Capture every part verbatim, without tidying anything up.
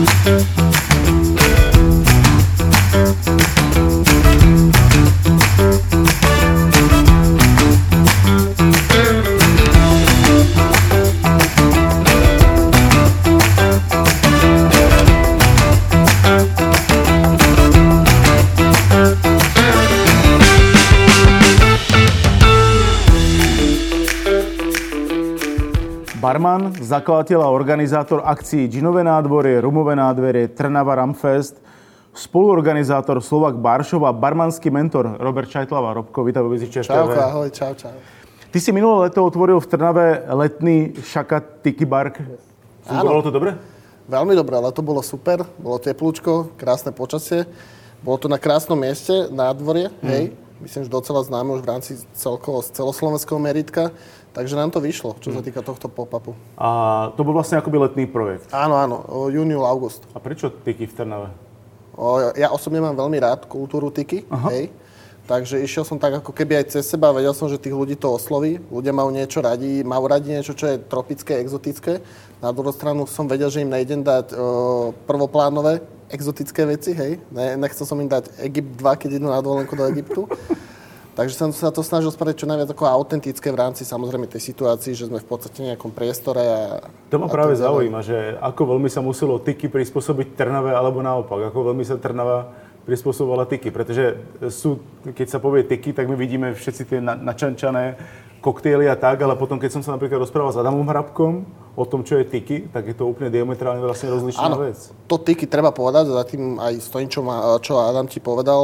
Barman, zakladateľ a organizátor akcií Džinové nádvorie, Rumové nádvorie, Trnava Ramfest, spoluorganizátor Slovak Baršov a barmanský mentor Robert Čajtlava. Robko, vítaj vo Viziči es té vé. Čauko, ahoj, čau, čau. Ty si minulé leto otvoril v Trnave letný Šakat Tiki Bar. Fungovalo to dobre? Veľmi dobre, ale to bolo super. Bolo teplúčko, krásne počasie. Bolo to na krásnom mieste, nádvorie, mm. hej. Myslím, že docela známe už v rámci celkovo, celoslovenského meritka. Takže nám to vyšlo, čo sa týka tohto pop-upu. A to bol vlastne akoby letný projekt? Áno, áno, júniu, august. A prečo Tiki v Trnave? O, ja osobne mám veľmi rád kultúru Tiki, hej. Takže išiel som tak ako keby aj cez seba, vedel som, že tých ľudí to osloví. Ľudia majú niečo radi, majú radi niečo, čo je tropické, exotické. Na druhú stranu som vedel, že im nejdem dať o, prvoplánové, exotické veci, hej. Ne, nechcel som im dať Egypt dva, keď idú na dovolenku do Egyptu. Takže som sa to snažil spraviť čo najviac ako autentické v rámci samozrejme tej situácii, že sme v podstate v nejakom priestore a... To ma práve zaujíma, že ako veľmi sa muselo Tiki prispôsobiť Trnave, alebo naopak, ako veľmi sa Trnava prispôsobovala Tiki, pretože sú, keď sa povie Tiki, tak my vidíme všetci tie načančané koktejly a tak, ale potom, keď som sa napríklad rozprával s Adamom Hrabkom o tom, čo je Tiki, tak je to úplne diametrálne vlastne rozličná Áno, vec. To Tiki treba povedať, za tým aj stojím, čo, ma, čo Adam ti povedal.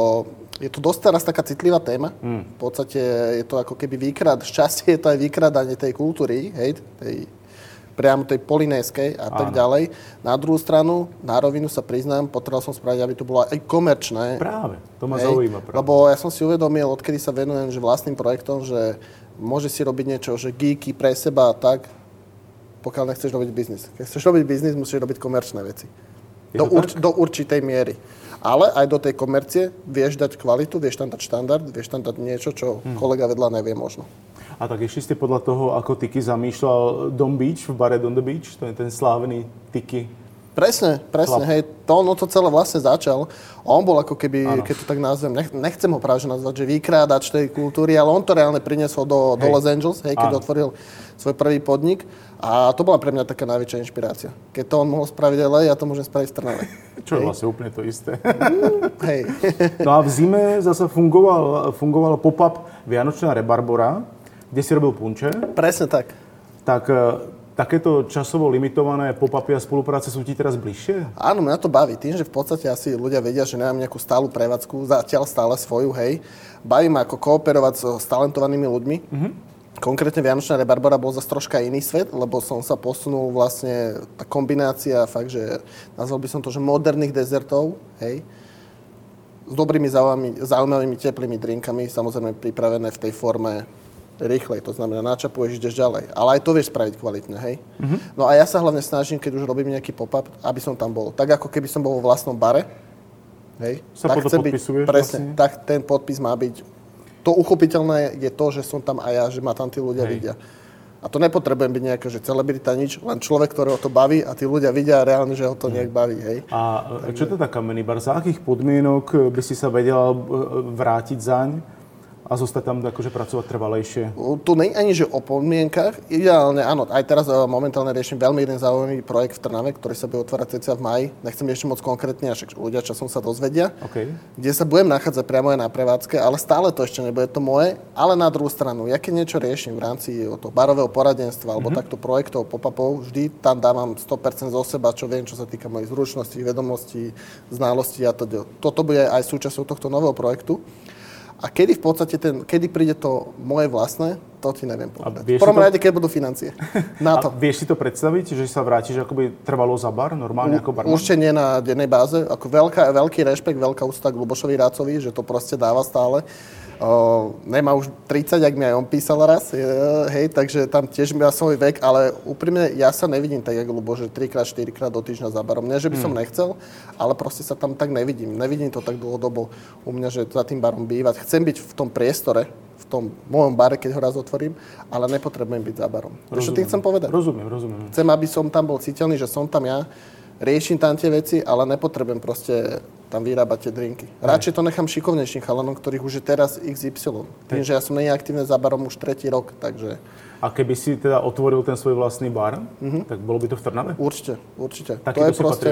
Je to dosť teraz taká citlivá téma. Hmm. V podstate je to ako keby výkrad, šťastie je to aj výkradanie tej kultúry, hej, tej, priamo tej polinéskej a tak ďalej. Na druhú stranu, na rovinu sa priznám, potreboval som spraviť, aby to bolo aj komerčné. Práve, to ma hej, zaujíma. Práve. Lebo ja som si uvedomil, odkedy sa venujem že vlastným projektom, že môže si robiť niečo, že geeky pre seba a tak, pokiaľ nechceš robiť biznis. Keď chceš robiť biznis, musíš robiť komerčné veci. Do, urč, do určitej miery. Ale aj do tej komercie vieš dať kvalitu, vieš tam dať štandard, vieš tam dať niečo, čo hmm. kolega vedľa nevie možno. A tak išli ste podľa toho, ako Tiki zamýšľal Don Beach, v bare Don the Beach, to je ten slávny Tiki. Presne, presne, chlap. Hej, to, no to celé vlastne začal. On bol ako keby, ano. Keď to tak nazvem, nech, nechcem ho práve nazvať, že vykrádač tej kultúry, ale on to reálne priniesol do, do Los Angeles, hej, keď ano. Otvoril svoj prvý podnik. A to bola pre mňa taká najväčšia inšpirácia. Keď to on mohol spraviť el ej, ja to môžem spraviť v Trnave. Čo je vlastne úplne to isté. Hej. No a v zime zase fungoval, fungoval pop-up Vianočná Rebarbora, kde si robil punče. Presne tak. Tak takéto časovo limitované pop-upy a spolupráce sú ti teraz bližšie? Áno, mňa to baví. Tým, že v podstate asi ľudia vedia, že nemám nejakú stálu prevádzku, zatiaľ stále svoju, hej. Baví ma ako kooperovať s talentovanými ľuďmi. Mhm. Konkrétne Vianočná Rebarbora bol zase troška iný svet, lebo som sa posunul vlastne, tá kombinácia fakt, že nazval by som to, že moderných dezertov, hej, s dobrými zaujímavými teplými drinkami, samozrejme pripravené v tej forme rýchlej, to znamená načapuješ, ideš ďalej. Ale aj to vieš spraviť kvalitne, hej. Mm-hmm. No a ja sa hlavne snažím, keď už robím nejaký pop-up, aby som tam bol. Tak ako keby som bol vo vlastnom bare, hej, sa tak chce byť, presne, vlastne? Tak ten podpis má byť. To uchopiteľné je to, že som tam aj ja, že ma tam tí ľudia hej. vidia. A to nepotrebujem byť nejaká, že celebrita, nič, len človek, ktorého to baví a tí ľudia vidia reálne, že ho to nejak baví, hej. A takže... čo to je kamenný bar? Za akých podmienok by si sa vedel vrátiť zaň a zostať tam akože pracovať trvalejšie? Tu nie ani, že o podmienkach. Ideálne, áno, aj teraz momentálne riešim veľmi jeden zaujímavý projekt v Trnave, ktorý sa bude otvárať cca v máji. Nechcem ešte moc konkrétne, až ľudia časom sa dozvedia. Okay. Kde sa budem nachádzať priamo aj na prevádzke, ale stále to ešte nebude to moje. Ale na druhú stranu, ja keď niečo riešim v rámci toho barového poradenstva alebo mm-hmm. takto projektov, pop-upov, vždy tam dávam sto percent zo seba, čo viem, čo sa týka mojich zručností, vedomostí, znalostí a to. Toto bude aj súčasťou tohto nového projektu. A kedy v podstate ten, kedy príde to moje vlastné, to ti neviem povedať. V prvom rade, keď budú financie. Na to. A vieš si to predstaviť, že sa vrátiš akoby trvalo za bar, normálne ako barman? Určite nie na dennej báze. Ako veľká, veľký rešpekt, veľká úcta k Lubošovi Rácovi, že to proste dáva stále. O, nemá už tridsať, ak mi aj on písal raz, je, hej, takže tam tiež má svoj vek, ale úprimne ja sa nevidím tak, jak Lubo, že trikrát, štyrikrát do týždňa za barom. Nie, že by som hmm. nechcel, ale proste sa tam tak nevidím. Nevidím to tak dlhodobo u mňa, že za tým barom bývať. Chcem byť v tom priestore, v tom mojom bare, keď ho raz otvorím, ale nepotrebujem byť za barom. Čo tým chcem povedať? Rozumiem, rozumiem. Chcem, aby som tam bol citeľný, že som tam ja, riešim tam tie veci, ale nepotrebujem proste tam vyrábať tie drinky. Radšej to nechám šikovnejším chalanom, ktorých už je teraz iks ypsilon. Tým, že ja som není aktívne za barom už tretí rok, takže... A keby si teda otvoril ten svoj vlastný bar, mm-hmm. tak bolo by to v Trnave? Určite, určite. Taký to je proste...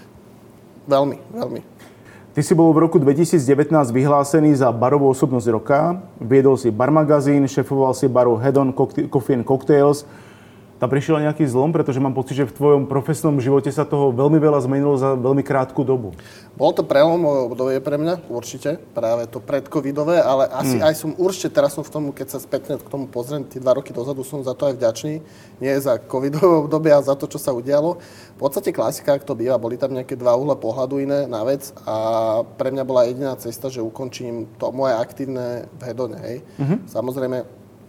Veľmi, veľmi. Ty si bol v roku dvetisícdevätnásť vyhlásený za barovú osobnosť roka, viedol si bar magazín, šefoval si baru Head On Coffee and Cocktails. Tam prišiel nejaký zlom, pretože mám pocit, že v tvojom profesnom živote sa toho veľmi veľa zmenilo za veľmi krátku dobu. Bolo to prelomové obdobie pre mňa, určite, práve to predcovidové, ale asi mm. aj som určite, teraz som v tom, keď sa spätne k tomu pozriem, tie dva roky dozadu som za to aj vďačný, nie za covidové obdobie, ale za to, čo sa udialo. V podstate klasika, ak to býva, boli tam nejaké dva uhla pohľadu iné na vec a pre mňa bola jediná cesta, že ukončím to moje aktívne v Head On, hej. Mm-hmm. Samozrejme,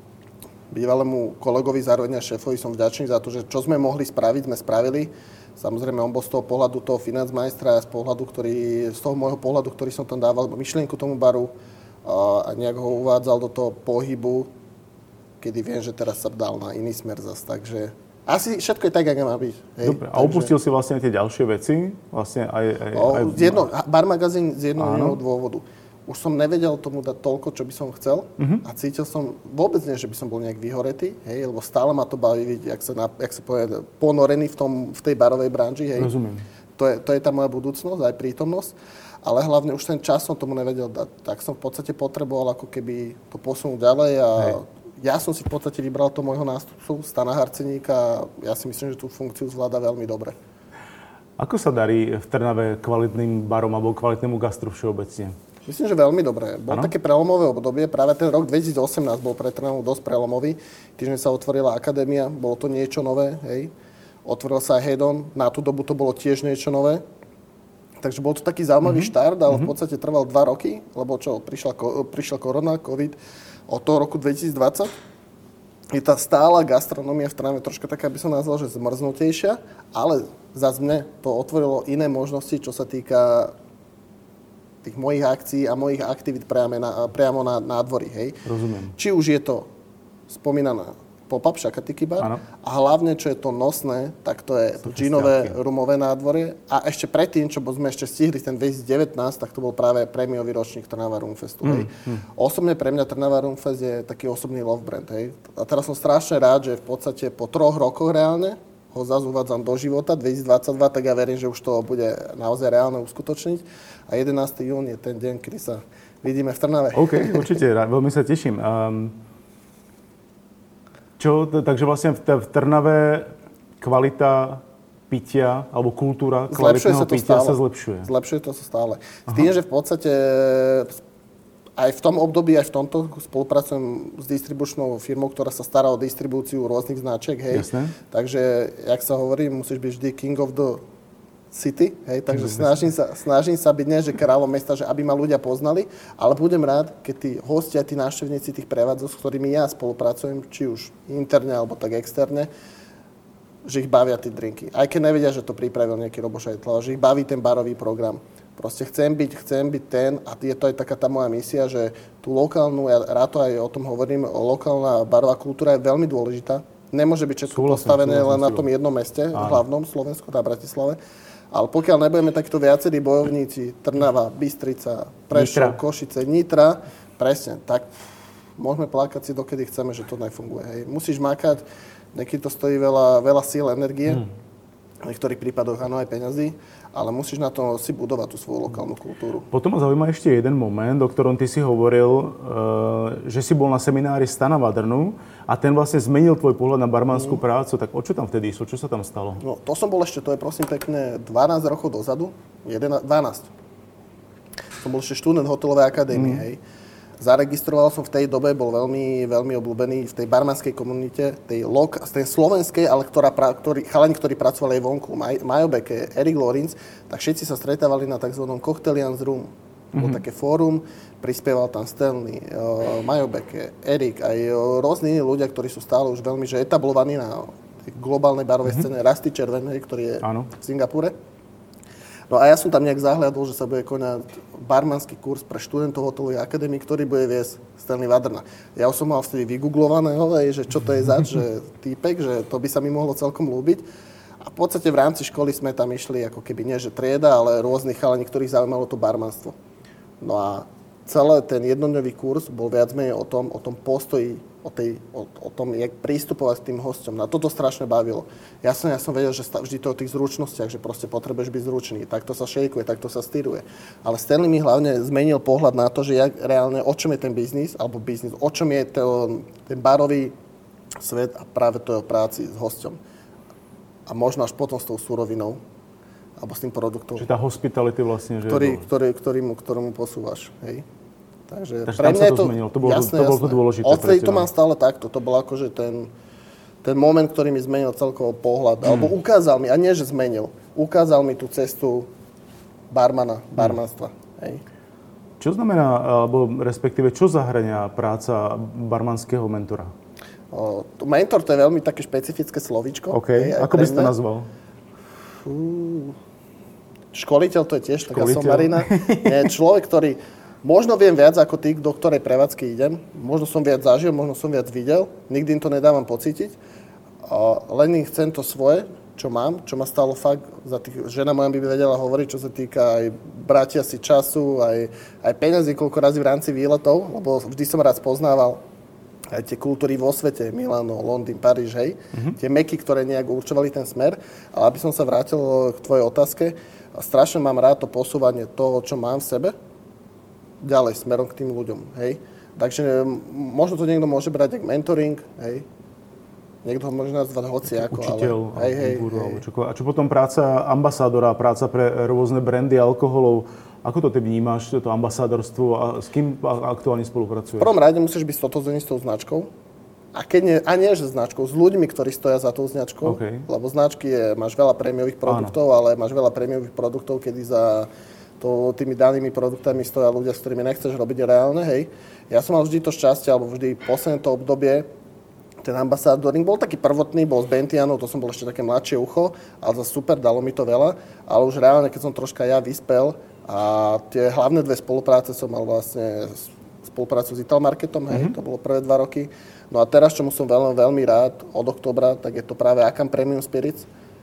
bývalému kolegovi, zároveň a šéfovi som vďačný za to, že čo sme mohli spraviť, sme spravili. Samozrejme, on bol z toho pohľadu toho financmajstra a z pohľadu, ktorý, z toho môjho pohľadu, ktorý som tam dával myšlienku tomu baru a, a nejak ho uvádzal do toho pohybu, kedy viem, že teraz sa dal na iný smer zas. Takže asi všetko je tak, ako má byť. Hej. Dobre, a opustil si vlastne tie ďalšie veci? Vlastne aj, aj, o, aj... Jedno, bar magazín z jednoho dôvodu. Už som nevedel tomu dať toľko, čo by som chcel uh-huh. a cítil som vôbec nie, že by som bol nejak vyhoretý, hej, lebo stále ma to baví vidieť, jak sa, na, jak sa povie, ponorený v, tom, v tej barovej branži. Hej. Rozumiem. To je, to je tá moja budúcnosť, aj prítomnosť, ale hlavne už ten čas som tomu nevedel dať. Tak som v podstate potreboval ako keby to posunúť ďalej a hej. Ja som si v podstate vybral toho môjho nástupcu, Stana Harceníka a ja si myslím, že tú funkciu zvláda veľmi dobre. Ako sa darí v Trnave kvalitným barom alebo kvalitnému gastru všeobecne? Myslím, že veľmi dobré. Bol ano? Také prelomové obdobie. Práve ten rok dvetisícosemnásť bol pre Trnavu dosť prelomový. Tým, že sa otvorila akadémia, bolo to niečo nové. Hej. Otvoril sa aj Head On. Na tú dobu to bolo tiež niečo nové. Takže bol to taký zaujímavý mm-hmm. štart, ale v podstate trval dva roky, lebo čo, prišla, prišla korona, covid od toho roku dvetisícdvadsať. Je tá stála gastronomia v Trnave troška taká, by som nazval, že zmrznutejšia, ale zase mne to otvorilo iné možnosti, čo sa týka tých mojich akcií a mojich aktivít priamo na, priamo na nádvorí, hej. Rozumiem. Či už je to spomínaná pop-up Shakatiki bar ano. A hlavne, čo je to nosné, tak to je to džinové, rumové nádvorie. A ešte predtým, čo sme ešte stihli ten dvetisícdevätnásť, tak to bol práve prémiový ročník Trnava Rumfestu, hej. Mm, mm. Osobne pre mňa Trnava Rumfest je taký osobný love brand, hej. A teraz som strašne rád, že v podstate po troch rokoch reálne ho zase uvádzam do života, dvetisícdvadsaťdva, tak ja verím, že už to bude naozaj reálne uskutočniť. A jedenásteho júna je ten deň, kedy sa vidíme v Trnave. OK, určite, veľmi sa teším. Um, čo, takže vlastne v Trnave kvalita pitia, alebo kultúra kvalitného pitia sa zlepšuje. Zlepšuje to sa stále. S tým, že v podstate aj v tom období, aj v tomto spolupracujem s distribučnou firmou, ktorá sa stará o distribúciu rôznych značiek, hej. Jasné. Takže, jak sa hovorí, musíš byť vždy king of the city, hej. Takže snažím sa, snažím sa byť nie, že kráľom mesta, že aby ma ľudia poznali, ale budem rád, keď tí hostia, tí návštevníci tých prevádzok, s ktorými ja spolupracujem, či už interne, alebo tak externe, že ich bavia tí drinky. Aj keď nevedia, že to pripravil nejaký Robo Šajtl, že ich baví ten barový program. Proste chcem byť, chcem byť ten, a je to aj taká tá moja misia, že tú lokálnu, ja rád to aj o tom hovorím, lokálna barová kultúra je veľmi dôležitá. Nemôže byť všetko súhlasím, postavené súhlasím, len na tom jednom meste, v hlavnom Slovensku, na Bratislave. Ale pokiaľ nebudeme takto viacerí bojovníci, Trnava, Bystrica, Prešov, Nitra. Košice, Nitra, presne, tak môžeme plakať si dokedy chceme, že to nefunguje. Hej. Musíš makať, niekedy to stojí veľa, veľa síl, energie, hmm. v niektorých prípadoch áno aj peňazí, ale musíš na to si budovať tú svoju lokálnu kultúru. Potom ma zaujíma ešte jeden moment, o ktorom ty si hovoril, že si bol na seminári Stana Vadrnu a ten vlastne zmenil tvoj pohľad na barmanskú mm. prácu. Tak o čo tam vtedy išlo? Čo sa tam stalo? No, to som bol ešte, to je prosím pekne dvanásť rokov dozadu, jedenásť, dvanásť. Som bol ešte študent hotelovej akadémie, mm. hej. Zaregistroval som v tej dobe, bol veľmi, veľmi obľúbený v tej barmanskej komunite, tej, lok, tej slovenskej, ale ktorá, ktorý, chalani, ktorí pracovali aj vonku, Maj, Majo Beke, Erik Lorenz, tak všetci sa stretávali na tzv. Cocktailians Room. Mm-hmm. Bolo také fórum, prispieval tam Stanley, uh, Majo Beke, Erik, aj uh, rôzni iní ľudia, ktorí sú stále už veľmi že etablovaní na globálnej barovej mm-hmm. scéne. Rusty Červenej, ktorý je Áno. v Singapure. No a ja som tam nejak zahliadol, že sa bude konať barmanský kurz pre študentov hotelovej akadémie, ktorý bude viesť Stanley Vadrna. Ja už som mal vtedy vygooglovaného, že čo to je zač, že týpek, že to by sa mi mohlo celkom ľúbiť. A A v podstate v rámci školy sme tam išli ako keby nie že trieda, ale rôznych chalani, ktorých zaujímalo to barmanstvo. No a celý ten jednodňový kurz bol viac menej o tom, o tom postoji, o, tej, o, o tom, jak prístupovať k tým hosťom. Na toto strašne bavilo. Ja som, ja som vedel, že vždy to o tých zručnostiach, že proste potrebuješ byť zručný. Takto sa šejkuje, takto sa styruje. Ale Stanley mi hlavne zmenil pohľad na to, že jak reálne, o čom je ten biznis, alebo biznis, o čom je to, ten barový svet a práve to je o práci s hosťom. A možno až potom s tou surovinou, alebo s tým produktom. Čiže tá hospitality vlastne, že... Ktorý, ktorý, ktorý mu, ktorému posúvaš, hej. Takže, Takže pre mňa sa to, je to zmenilo. To bolo, jasné, to, bolo jasné. to dôležité. Odtedy to mám stále takto. To bol akože ten, ten moment, ktorý mi zmenil celkovo pohľad. Hmm. Alebo ukázal mi, a nie, že zmenil, ukázal mi tú cestu barmana, barmanstva. Hmm. Hej. Čo znamená, alebo respektíve, čo zahrania práca barmanského mentora? O, mentor to je veľmi také špecifické slovíčko. OK. Hej, ako by si to nazval? Fú. Školiteľ to je tiež taká somarina. Nie, človek, ktorý... Možno viem viac ako ty, do ktorej prevádzky idem. Možno som viac zažil, možno som viac videl. Nikdy im to nedávam pocítiť. Len im chcem to svoje, čo mám, čo ma stalo fakt. Za tých, žena moja by vedela hovoriť, čo sa týka aj bratia si času, aj, aj peniazy, koľko razy v rámci výletov, lebo vždy som rád spoznával aj tie kultúry vo svete, Milano, Londýn, Paríž, hej. Mm-hmm. Tie meky, ktoré nejak určovali ten smer. Ale aby som sa vrátil k tvojej otázke, strašne mám rád to posúvanie toho, čo mám v sebe, ďalej, smerom k tým ľuďom, hej. Takže možno to niekto môže brať ako mentoring, hej. Niekto ho môže nazvať hociako, učiteľ, ale... Hej, hej, guru, hej. A čo potom práca ambasádora, práca pre rôzne brandy alkoholov, ako to ty vnímaš, to ambasádorstvo a s kým aktuálne spolupracuješ? V prvom rade musíš byť stotožnený s tou značkou. A, keď nie, a nie, že značkou, s ľuďmi, ktorí stoja za tou značkou. Okay. Lebo značky je, máš veľa prémiových produktov, áno. Ale máš veľa prémiových produktov, kedy za... To, tými danými produktami stoja ľudia, s ktorými nechceš robiť reálne, hej. Ja som mal vždy to šťastie, alebo vždy posledné to obdobie, ten ambasádoring bol taký prvotný, bol z Bentianov, to som bol ešte také mladšie ucho, ale za super, dalo mi to veľa, ale už reálne, keď som troška ja vyspel a tie hlavné dve spolupráce som mal vlastne spoluprácu s Italmarketom, hej, mm-hmm. To bolo prvé dva roky. No a teraz, čomu som veľmi, veľmi rád od októbra, tak je to práve Akam Premium Spirits.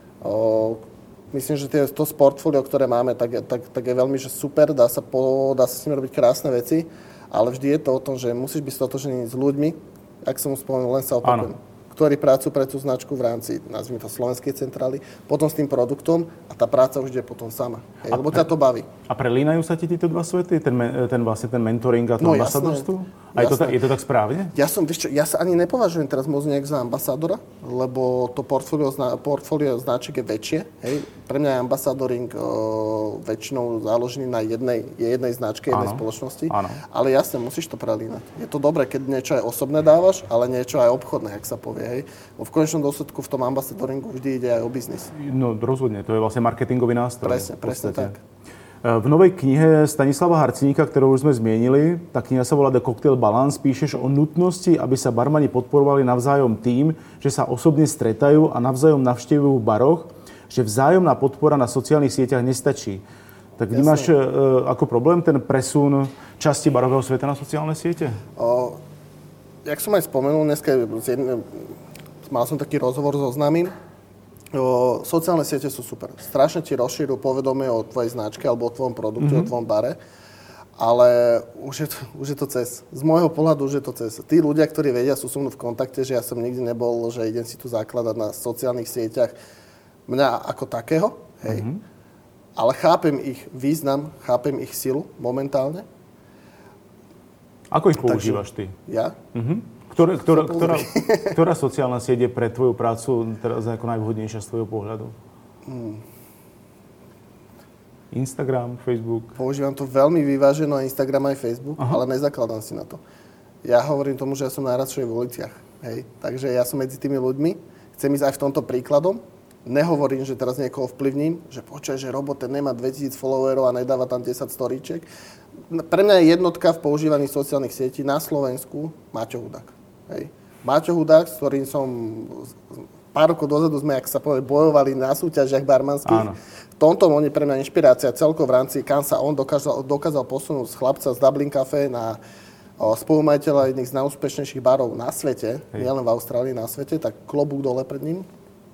O, Myslím, že tie, to portfólio, ktoré máme, tak, tak, tak je veľmi že super, dá sa, po, dá sa s nimi robiť krásne veci, ale vždy je to o tom, že musíš byť stotožený s ľuďmi, ak som mu spomenul, len sa opakujem, ktorí pracujú pre tú značku v rámci, nazvime to, slovenskej centrály, potom s tým produktom a tá práca už ide potom sama, hej, lebo ťa to baví. A prelínajú sa ti títo dva svety? Ten, ten, vlastne ten mentoring a to no, ambasadorstvo? A je to, tak, je to tak správne? Ja som, vieš čo, ja sa ani nepovažujem teraz moc nejak za ambasádora, lebo to portfólio, portfólio značiek je väčšie. Hej. Pre mňa je ambasadoring o, väčšinou záložený na jednej, jednej značke, jednej áno, spoločnosti. Áno. Ale jasne, musíš to prelínať. Je to dobré, keď niečo aj osobné dávaš, ale niečo aj obchodné, jak sa povie. Hej. V konečnom dôsledku v tom ambasadoringu vždy ide aj o biznis. No rozhodne, to je vlastne marketingový nástroj. Presne, presne tak. V novej knihe Stanislava Harcníka, ktorú už sme zmienili, tá kniha sa volá The Cocktail Balance, píšeš o nutnosti, aby sa barmani podporovali navzájom tým, že sa osobne stretajú a navzájom navštevujú v baroch, že vzájomná podpora na sociálnych sieťach nestačí. Tak vnímaš e, ako problém ten presun časti barového sveta na sociálne siete? O, jak som aj spomenul, dneska jedne, mal som taký rozhovor so známym. O, sociálne siete sú super. Strašne ti rozšírujú povedomie o tvojej značke alebo o tvojom produkte, mm-hmm. o tvojom bare. Ale už je, to, už je to cez. Z môjho pohľadu už je to cez. Tí ľudia, ktorí vedia, sú so mnou v kontakte, že ja som nikdy nebol, že idem si tu zakladať na sociálnych sieťach mňa ako takého. Hej. Mm-hmm. Ale chápem ich význam, chápem ich silu momentálne. Ako ich používaš ty? Ja? Mhm. Ktorá, ktorá, ktorá, ktorá sociálna sieť je pre tvoju prácu teraz ako najvhodnejšia z tvojho pohľadu? Hmm. Instagram, Facebook? Používam to veľmi vyváženo, Instagram aj Facebook, aha. Ale nezakladám si na to. Ja hovorím tomu, že ja som najradšej v uliciach. Hej? Takže ja som medzi tými ľuďmi. Chcem ísť aj v tomto príkladom. Nehovorím, že teraz niekoho vplyvním, že počuj, že Robo ten nemá dvetisíc followerov a nedáva tam desať storíček. Pre mňa je jednotka v používaní sociálnych sietí na Slovensku Maťo Hudák. Hej. Maťo Hudák, s ktorým som pár rokov dozadu sme, ak sa povie, bojovali na súťažiach barmanských. Áno. V tomto on je pre mňa inšpirácia celkovo v rámci, kam sa on dokázal, dokázal posunúť z chlapca z Dublin Café na o, spolumajiteľa jedných z najúspešnejších barov na svete, nielen v Austrálii, na svete, tak klobúk dole pred ním.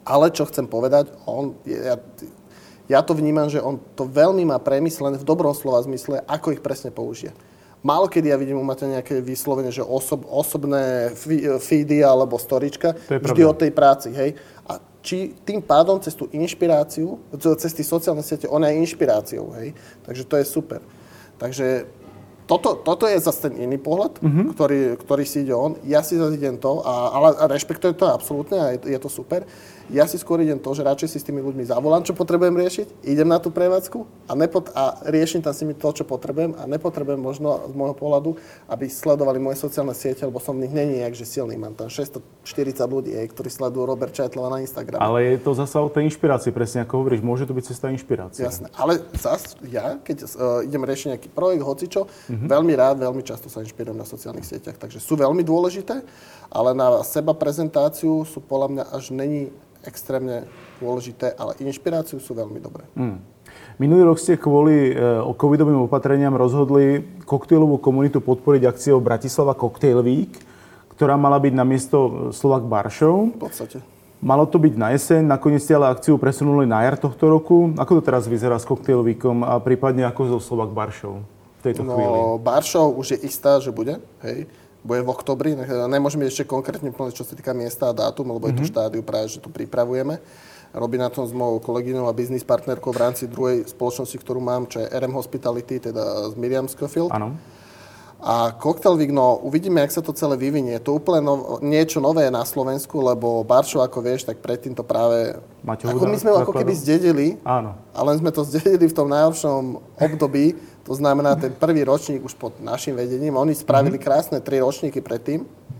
Ale čo chcem povedať, on, ja, ja to vnímam, že on to veľmi má premyslené v dobrom slova zmysle, ako ich presne použije. Málo kedy ja vidím u Maťa nejaké vyslovene, že osob, osobné feedy alebo storička, vždy o tej práci, hej. A či tým pádom cez tú inšpiráciu, cez tie sociálne siete, on je inšpiráciou, hej. Takže to je super. Takže toto, toto je zase ten iný pohľad, mm-hmm. ktorý, ktorý si ide on. Ja si zase idem to, a, ale a rešpektujem to absolútne a je, je to super. Ja si skôr idem to, že radšej si s tými ľuďmi zavolám, čo potrebujem riešiť, idem na tú prevádzku a, nepot- a riešim tam s nimi to, čo potrebujem a nepotrebujem možno z môjho pohľadu, aby sledovali moje sociálne siete, lebo som v nich není nejak, že silný. Mám tam šesťstoštyridsať ľudí, ktorí sledujú Robert Čajtlova na Instagrame. Ale je to zasa o tej inšpirácii, presne ako hovoríš, môže to byť cesta inšpirácie. Jasné, ale zas ja, keď uh, idem riešiť nejaký projekt, hocičo, mm-hmm. veľmi rád, veľmi často sa inšpirujem na sociálnych sieťach, takže sú veľmi dôležité, ale na seba prezentáciu sú podľa mňa až není extrémne dôležité, ale inšpiráciu sú veľmi dobré. Mm. Minulý rok ste kvôli e, covidovým opatreniam rozhodli koktejlovú komunitu podporiť akciou Bratislava Cocktail Week, ktorá mala byť namiesto Slovak Bar Show. V podstate. Malo to byť na jeseň, nakoniec ste ale akciu presunuli na jar tohto roku. Ako to teraz vyzerá s Cocktail Weekom a prípadne ako so Slovak Bar Show v tejto no, chvíli? No, Bar Show už je istá, že bude, hej. Bude v oktobri, nemôžeme ešte konkrétne povedať, čo sa týka miesta a dátum, lebo mm-hmm. je to štádiu práve, že tu pripravujeme. Robí na tom s mojou kolegyňou a biznis partnerkou v rámci druhej spoločnosti, ktorú mám, čo je er em Hospitality, teda z Miriam Scofield. Áno. A Cocktail Week, no uvidíme, jak sa to celé vyvinie. To úplne no, niečo nové na Slovensku, lebo Bar Show, ako vieš, tak predtým to práve... Maťo ako my sme ho ako keby zdedili, áno. Ale sme to zdedili v tom najhoršom období. To znamená, ten prvý ročník už pod našim vedením. Oni spravili mm-hmm. krásne tri ročníky predtým.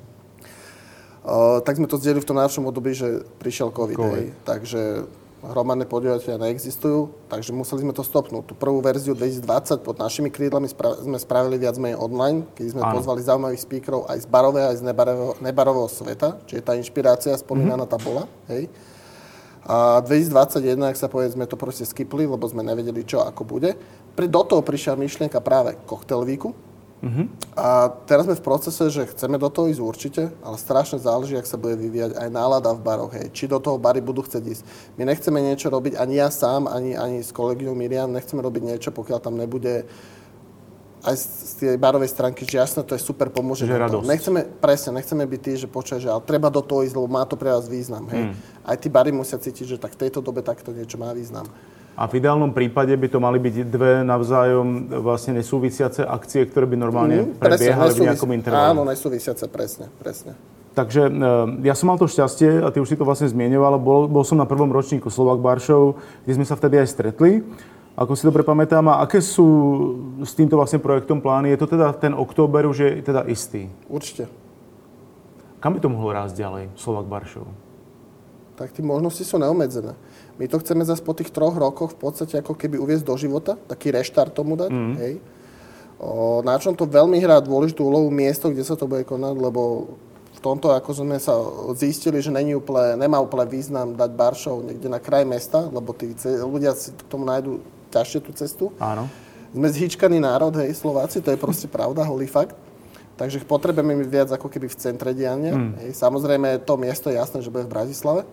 Uh, tak sme to zdedili v tom najhoršom období, že prišiel COVID. COVID. Hej. Takže hromadné podujatia neexistujú, takže museli sme to stopnúť. Tú prvú verziu dvetisícdvadsať pod našimi krídlami spra- sme spravili viac menej online, keď sme Áno. pozvali zaujímavých speakerov aj z barového, aj z nebarového, nebarového sveta, čiže tá inšpirácia spomínaná mm-hmm. tá bola. Hej. A dvetisícdvadsaťjeden, ak sa povie, sme to proste skipli, lebo sme nevedeli, čo ako bude. Pri do toho prišla myšlienka práve Cocktail Weeku. Mm-hmm. A teraz sme v procese, že chceme do toho ísť určite, ale strašne záleží, ak sa bude vyvíjať aj nálada v baroch. Hej. Či do toho bary budú chcieť ísť. My nechceme niečo robiť, ani ja sám, ani, ani s kolegyňou Miriam, nechceme robiť niečo, pokiaľ tam nebude aj z tej barovej stránky, že jasné, to je super, pomôže. Nechceme, presne, nechceme byť tí, že počuje, že ale treba do toho ísť, lebo má to pre vás význam. Hej. Mm. Aj tí bary musia cítiť, že tak v tejto dobe takto niečo má význam. A v ideálnom prípade by to mali byť dve navzájom vlastne nesúvisiace akcie, ktoré by normálne mm, prebiehali v nejakom intervale. Áno, nesúvisiace, presne, presne. Takže ja som mal to šťastie, a ty už si to vlastne zmieňoval, bol, bol som na prvom ročníku Slovak Bar Show, kde sme sa vtedy aj stretli. Ako si dobre pamätám, a aké sú s týmto vlastne projektom plány? Je to teda ten október už je teda istý? Určite. Kam by to mohlo rásť ďalej, Slovak Bar Show? Tak tie možnosti sú neobmedzené. My to chceme zase po tých troch rokoch v podstate ako keby uviesť do života, taký reštart tomu dať, mm. hej. O, na čom to veľmi hrá dôležitú úlohu miesto, kde sa to bude konať, lebo v tomto ako sme sa zistili, že není úplne, nemá úplne význam dať bar show niekde na kraj mesta, lebo tí ľudia si k tomu nájdu ťažšie tú cestu. Áno. Sme zhýčkaný národ, hej, Slováci, to je proste pravda, holý fakt. Takže potrebujeme byť viac ako keby v centre diania. Mm. Hej. Samozrejme, to miesto je jasné, že bude v Bratislave.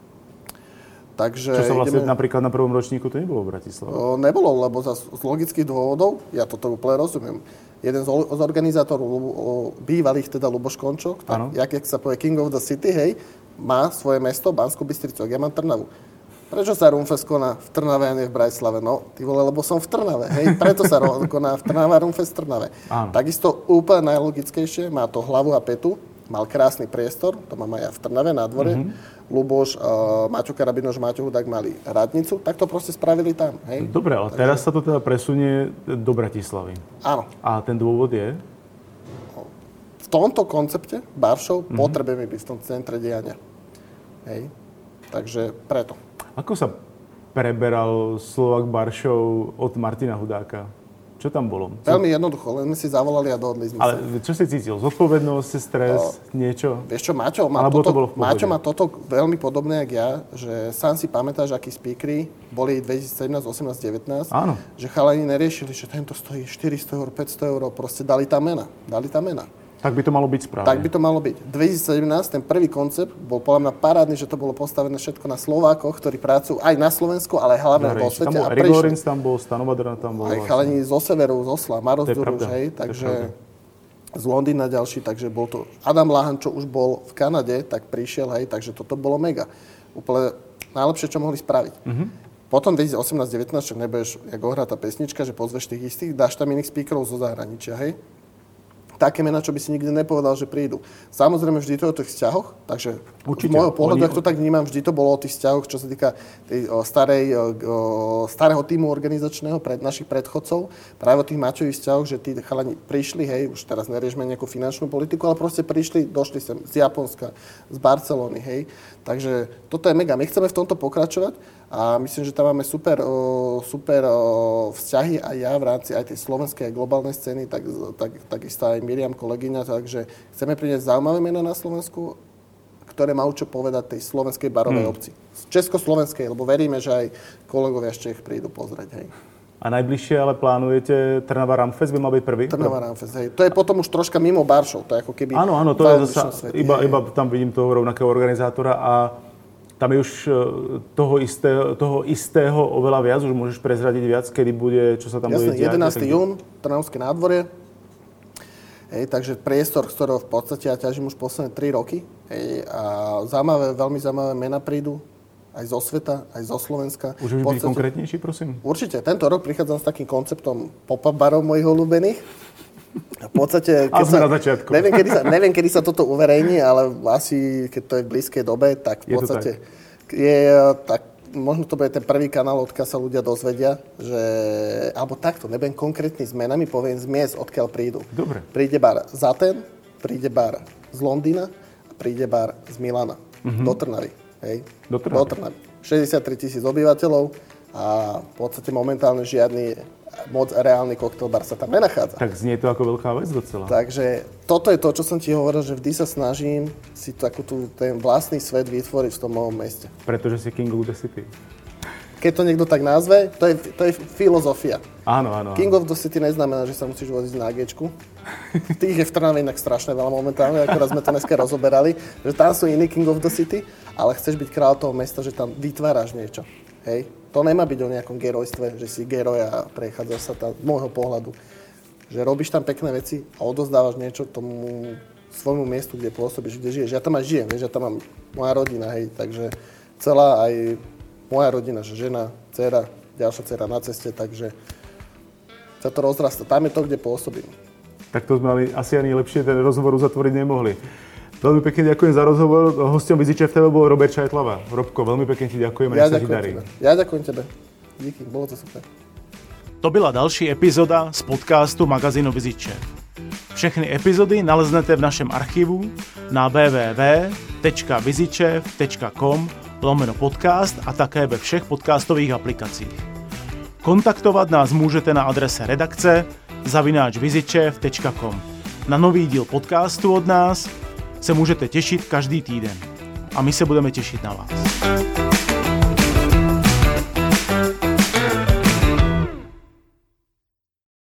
Takže čo sa vlastne ideme... napríklad na prvom ročníku to nebolo v Bratislave? O, nebolo, lebo z, z logických dôvodov, ja toto úplne rozumiem. Jeden z, z organizátorov, o, bývalých teda Luboš Končok, tak, jak, jak sa povie King of the City, hej, má svoje mesto, Banskú Bystricu, ja mám Trnavu. Prečo sa Rumfest koná v Trnave a nie v Bratislave? No, ty vole, lebo som v Trnave, hej, preto sa koná v Trnave a Rumfest v Trnave. Áno. Takisto úplne najlogickejšie, má to hlavu a petu, mal krásny priestor, to mám aj ja v Trnave na dvore. Mm-hmm. Luboš, uh, Maťo Karabinoš, Maťo Hudák mali radnicu, tak to proste spravili tam. Hej? Dobre, ale takže... teraz sa to teda presunie do Bratislavy. Áno. A ten dôvod je? V tomto koncepte bar show mm-hmm. potrebujeme byť v tom centre diania. Hej? Takže preto. Ako sa preberal Slovak Bar Show od Martina Hudáka? Čo tam bolo? Co... Veľmi jednoducho, len sme si zavolali a dohodli sme sa. Ale čo si cítil? Zodpovednosť, stres, o, niečo? Vieš čo, Maťo má, toto, to Maťo má toto veľmi podobné, jak ja, že sám si pamätáš, akí speakery boli dvetisícsedemnásť, osemnásť, devätnásť, Áno. Že chalani neriešili, že tento stojí štyristo eur, päťsto eur, proste dali tam mena. Dali tam mena. Tak by to malo byť správne. Tak by to malo byť. dvetisícsedemnásť, ten prvý koncept bol podľa mňa parádny, že to bolo postavené všetko na Slovákoch, ktorí pracujú aj na Slovensku, ale hlavne vo svete. Tam bol Erik Lorenz, tam bol Stanovadrna, tam bol... Aj chalani zo severu, z Osla, Maroš Duruš, hej, takže z Londýna ďalší, takže bol to Adam Lahan, čo už bol v Kanade, tak prišiel, hej, takže toto bolo mega. Úplne najlepšie, čo mohli spraviť. Mm-hmm. Potom dvetisícosemnásť devätnásť, však nebudeš, jak ohrá tá pesnička, že pozveš tých istých, dáš tam iných speakerov zo zahraničia, hej. Také mená, čo by si nikdy nepovedal, že prídu. Samozrejme, vždy to je o tých vzťahoch, takže určite. Z môjho pohľadu, Oni... ak to tak vnímam, vždy to bolo o tých vzťahoch, čo sa týka tej o, starej, o, starého týmu organizačného pred našich predchodcov. Práve o tých mačových vzťahoch, že tí chalani prišli, hej, už teraz neriešme nejakú finančnú politiku, ale proste prišli, došli sem z Japonska, z Barcelony, hej. Takže toto je mega. My chceme v tomto pokračovať a myslím, že tam máme super, o, super o, vzťahy aj ja v rámci aj tej slovenskej a globálnej scény, tak, tak, takisto aj Miriam, kolegyňa, takže chceme priniesť zaujímavé mená na Slovensku, ktoré majú čo povedať tej slovenskej barovej hmm. obci. Československej, lebo veríme, že aj kolegovia z Čech prídu pozrieť, hej. A najbližšie ale plánujete Trnava Ramfest, by mal byť prvý? Trnava Ramfest, hej. To je potom už troška mimo Baršov, to je ako keby... Áno, áno, to je zasa, iba, iba tam vidím toho rovnakého organizátora a tam je už toho istého, toho istého oveľa viac, už môžeš prezradiť viac, kedy bude, čo sa tam Jasne, bude diať. jedenásteho júna, Trnavské nádvorie. Hej, takže priestor, z ktorého v podstate ja ťažím už posledné tri roky. Hej, a zaujímavé, veľmi zaujímavé mená prídu. Aj zo sveta, aj zo Slovenska. Už by byli konkrétnejší, prosím? Určite. Tento rok prichádzam s takým konceptom pop-up barov mojich obľúbených. A v podstate... A sme sa, na začiatku. Neviem kedy, sa, neviem, kedy sa toto uverejní, ale asi, keď to je v blízkej dobe, tak v podstate je tak, možno to bude ten prvý kanál, odkiaľ sa ľudia dozvedia, že... Alebo takto, nebudem konkrétny s menami, poviem z miest, odkiaľ prídu. Dobre. Príde bar z Aten, príde bar z Londýna a príde bar z Milana. Mm-hmm. Do Trnavy. Hej. Do Trnavy. Do Trnavy. šesťdesiattri tisíc obyvateľov a v podstate momentálne žiadny moc reálny koktejlbar sa tam nenachádza. Tak znie to ako veľká vec docela. Takže toto je to, čo som ti hovoril, že vždy sa snažím si takú tú, ten vlastný svet vytvoriť v tom mojom meste. Pretože si King of the City. Keď to niekto tak nazve, to je, to je filozofia. Áno, áno, áno. King of the City neznamená, že sa musíš voziť na Gčku. Tých je v Trnave inak strašne veľa momentálne, akorát sme to dneska rozoberali, že tam sú iní King of the City, ale chceš byť kráľ toho mesta, že tam vytváraš niečo. Hej? To nemá byť o nejakom gerojstve, že si geroj a prechádzaš sa tam z môjho pohľadu. Že robíš tam pekné veci a odozdávaš niečo tomu svojmu miestu, kde pôsobíš, kde žiješ. Ja tam aj žijem, vieš, ja tam mám moja rodina, hej, takže celá aj moja rodina, že žena, dcera, ďalšia dcera na ceste, takže sa to rozrasta. Tam je to, kde pôsobím. Tak to sme mali asi ani lepšie ten rozhovor uzatvoriť nemohli. Veľmi pekne ďakujem za rozhovor. Hosťom Viziče ef té vé bol Robert Čajtlava. Robko, veľmi pekne ti ďakujem a ja nech sa ti darí. Tebe. Ja ďakujem tebe. Díky, bolo to super. To byla další epizoda z podcastu magazínu Viziče. Všechny epizody naleznete v našem archivu na w w w tečka vizičev tečka com lomeno podcast a také ve všech podcastových aplikacích. Kontaktovat nás můžete na adrese redakce zavináč vizičev tečka com. Na nový díl podcastu od nás se můžete těšit každý týden. A my se budeme těšit na vás.